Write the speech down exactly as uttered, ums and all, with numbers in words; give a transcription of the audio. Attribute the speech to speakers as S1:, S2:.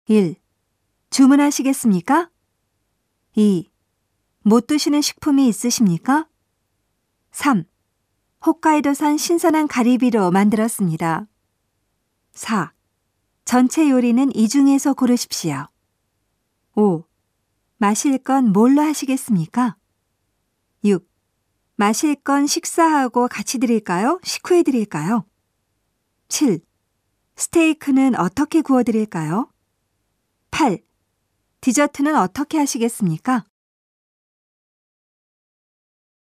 S1: 일. 주문하시겠습니까? 이. 못 드시는 식품이 있으십니까? 삼. 홋카이도산 신선한 가리비로 만들었습니다. 사. 전체 요리는 이 중에서 고르십시오. 오. 마실 건 뭘로 하시겠습니까? 육. 마실 건 식사하고 같이 드릴까요? 식후에 드릴까요? 칠. 스테이크는 어떻게 구워 드릴까요? 팔. 디저트는 어떻게 하시겠습니까?